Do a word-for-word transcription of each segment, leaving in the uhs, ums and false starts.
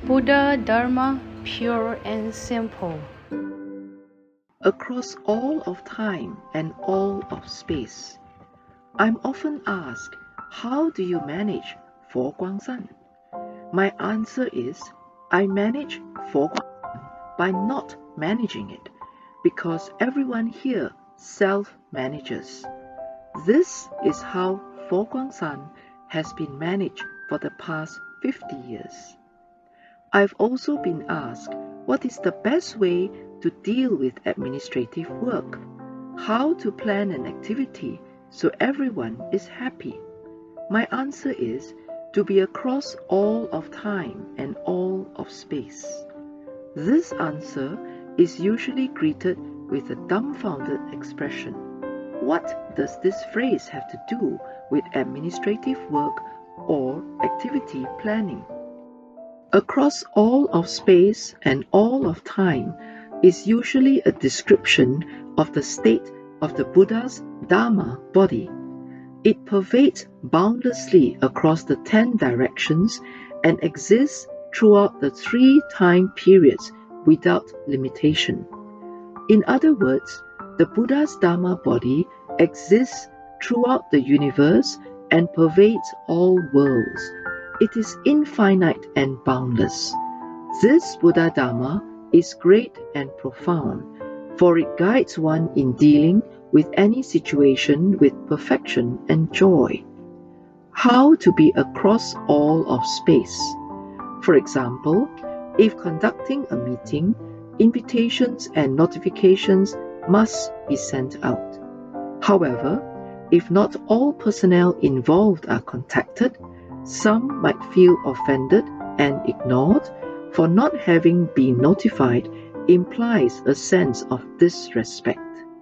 Buddha Dharma, pure and simple. Across all of time and all of space. I'm often asked, how do you manage Fo Guangsan? My answer is, I manage Fo Guangsan by not managing it, because everyone here self-manages. This is how Fo Guangsan has been managed for the past fifty years. I've also been asked, what is the best way to deal with administrative work? How to plan an activity so everyone is happy? My answer is to be across all of time and all of space. This answer is usually greeted with a dumbfounded expression. What does this phrase have to do with administrative work or activity planning? Across all of space and all of time is usually a description of the state of the Buddha's Dharma body. It pervades boundlessly across the ten directions and exists throughout the three time periods without limitation. In other words, the Buddha's Dharma body exists throughout the universe and pervades all worlds. It is infinite and boundless. This Buddha Dharma is great and profound, for it guides one in dealing with any situation with perfection and joy. How to be across all of space? For example, if conducting a meeting, invitations and notifications must be sent out. However, if not all personnel involved are contacted, some might feel offended and ignored, for not having been notified implies a sense of disrespect.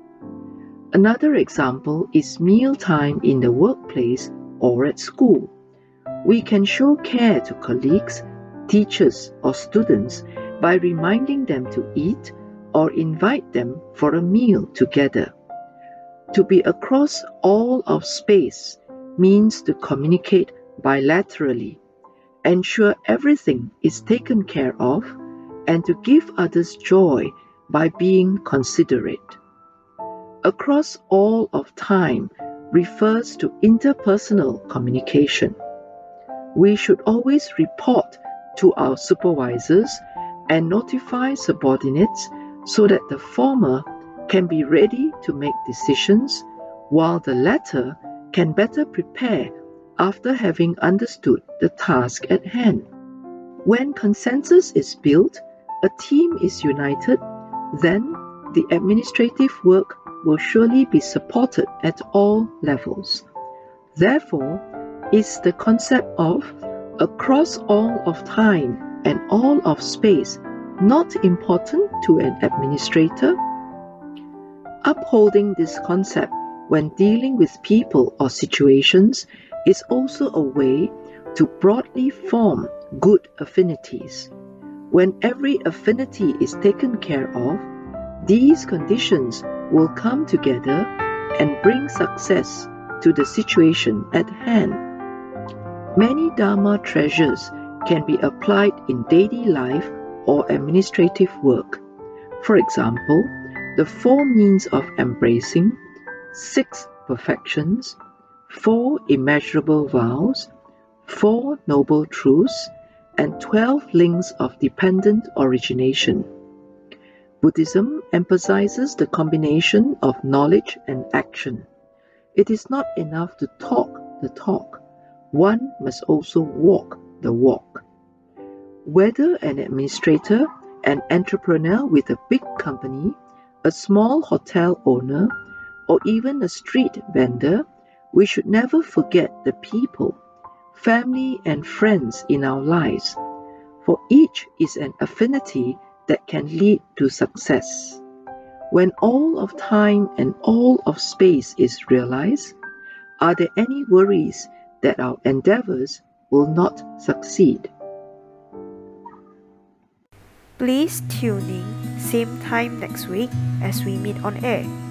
Another example is mealtime in the workplace or at school. We can show care to colleagues, teachers, or students by reminding them to eat or invite them for a meal together. To be across all of space means to communicate bilaterally, ensure everything is taken care of, and to give others joy by being considerate. Across all of time refers to interpersonal communication. We should always report to our supervisors and notify subordinates so that the former can be ready to make decisions, while the latter can better prepare after having understood the task at hand. When consensus is built, a team is united, then the administrative work will surely be supported at all levels. Therefore, is the concept of across all of time and all of space not important to an administrator? Upholding this concept when dealing with people or situations is also a way to broadly form good affinities. When every affinity is taken care of, these conditions will come together and bring success to the situation at hand. Many Dharma treasures can be applied in daily life or administrative work. For example, the four means of embracing, six perfections, four immeasurable vows, four noble truths, and twelve links of dependent origination. Buddhism emphasizes the combination of knowledge and action. It is not enough to talk the talk. One must also walk the walk. Whether an administrator, an entrepreneur with a big company, a small hotel owner, or even a street vendor, we should never forget the people, family, and friends in our lives, for each is an affinity that can lead to success. When all of time and all of space is realized, are there any worries that our endeavors will not succeed? Please tune in same time next week as we meet on air.